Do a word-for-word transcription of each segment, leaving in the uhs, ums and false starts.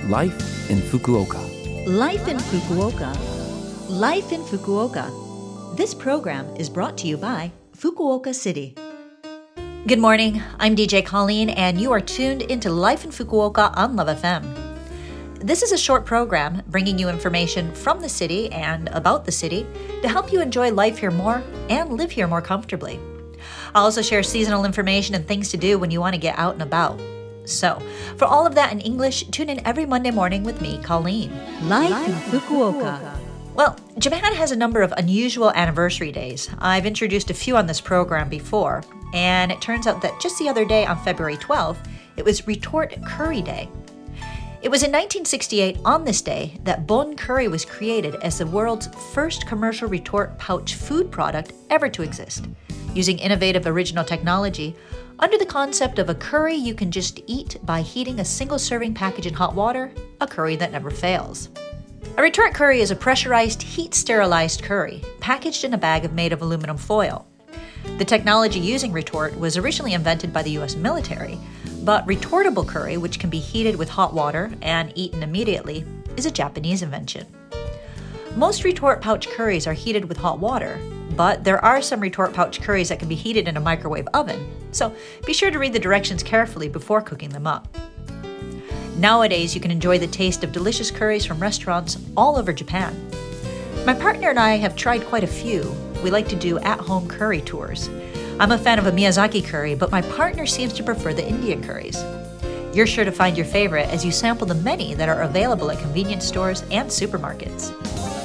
Life in Fukuoka. Life in Fukuoka. Life in Fukuoka. This program is brought to you by Fukuoka City. Good morning, I'm D J Colleen, and you are tuned into Life in Fukuoka on Love F M. This is a short program bringing you information from the city and about the city to help you enjoy life here more and live here more comfortably. I'll also share seasonal information and things to do when you want to get out and about. So, for all of that in English, tune in every Monday morning with me, Colleen. Life in Fukuoka. Well, Japan has a number of unusual anniversary days. I've introduced a few on this program before, and it turns out that just the other day on February twelfth, it was Retort Curry Day. It was in nineteen sixty-eight on this day that Bon Curry was created as the world's first commercial retort pouch food product ever to exist, using innovative original technology under the concept of a curry you can just eat by heating a single serving package in hot water, a curry that never fails. A retort curry is a pressurized, heat-sterilized curry packaged in a bag made of aluminum foil. The technology using retort was originally invented by the U S military, but retortable curry, which can be heated with hot water and eaten immediately, is a Japanese invention. Most retort pouch curries are heated with hot water, but there are some retort pouch curries that can be heated in a microwave oven, so be sure to read the directions carefully before cooking them up. Nowadays, you can enjoy the taste of delicious curries from restaurants all over Japan. My partner and I have tried quite a few. We like to do at-home curry tours. I'm a fan of a Miyazaki curry, but my partner seems to prefer the Indian curries. You're sure to find your favorite as you sample the many that are available at convenience stores and supermarkets.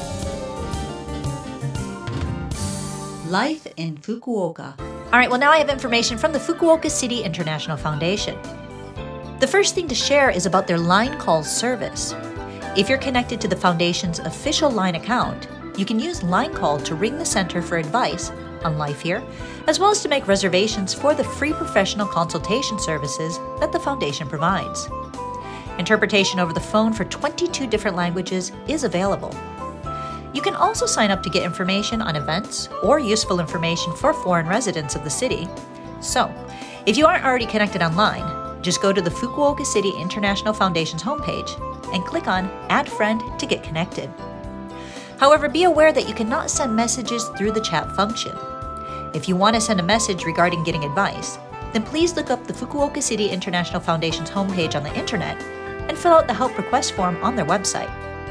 Life in Fukuoka. All right, well, now I have information from the Fukuoka City International Foundation. The first thing to share is about their line call service. If you're connected to the Foundation's official line account, you can use line call to ring the center for advice on life here, as well as to make reservations for the free professional consultation services that the Foundation provides. Interpretation over the phone for twenty-two different languages is available. You can also sign up to get information on events or useful information for foreign residents of the city. So, if you aren't already connected online, just go to the Fukuoka City International Foundation's homepage and click on Add Friend to get connected. However, be aware that you cannot send messages through the chat function. If you want to send a message regarding getting advice, then please look up the Fukuoka City International Foundation's homepage on the internet and fill out the help request form on their website.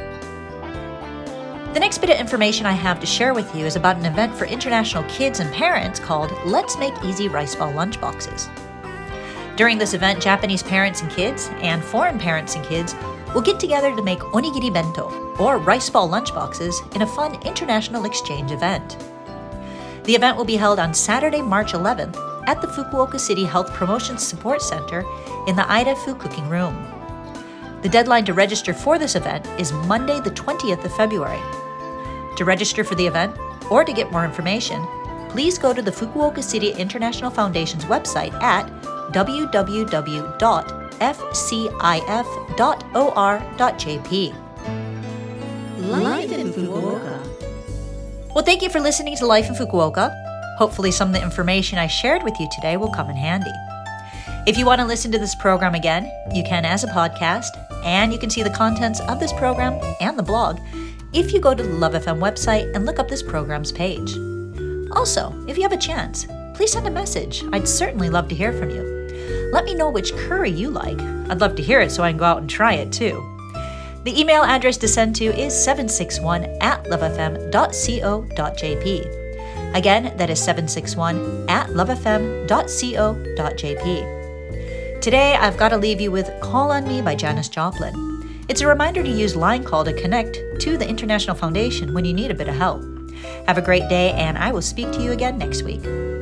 The next bit of information I have to share with you is about an event for international kids and parents called Let's Make Easy Rice Ball Lunchboxes. During this event, Japanese parents and kids and foreign parents and kids will get together to make onigiri bento, or rice ball lunchboxes, in a fun international exchange event. The event will be held on Saturday, March eleventh at the Fukuoka City Health Promotion Support Center in the Aidafu Cooking Room. The deadline to register for this event is Monday, the twentieth of February. To register for the event, or to get more information, please go to the Fukuoka City International Foundation's website at w w w dot f c i f dot o r dot j p. Life in Fukuoka. Well, thank you for listening to Life in Fukuoka. Hopefully some of the information I shared with you today will come in handy. If you want to listen to this program again, you can as a podcast, and you can see the contents of this program and the blog if you go to the Love F M website and look up this program's page. Also, if you have a chance, please send a message. I'd certainly love to hear from you. Let me know which curry you like. I'd love to hear it so I can go out and try it too. The email address to send to is seven six one at love f m dot co dot j p. Again, that is seven six one at love f m dot co dot j p. Today, I've got to leave you with Call on Me by Janis Joplin. It's a reminder to use line call to connect to the International Foundation when you need a bit of help. Have a great day, and I will speak to you again next week.